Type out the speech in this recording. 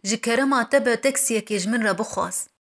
ji kerema te bi taksiyekê ji min re bixwast.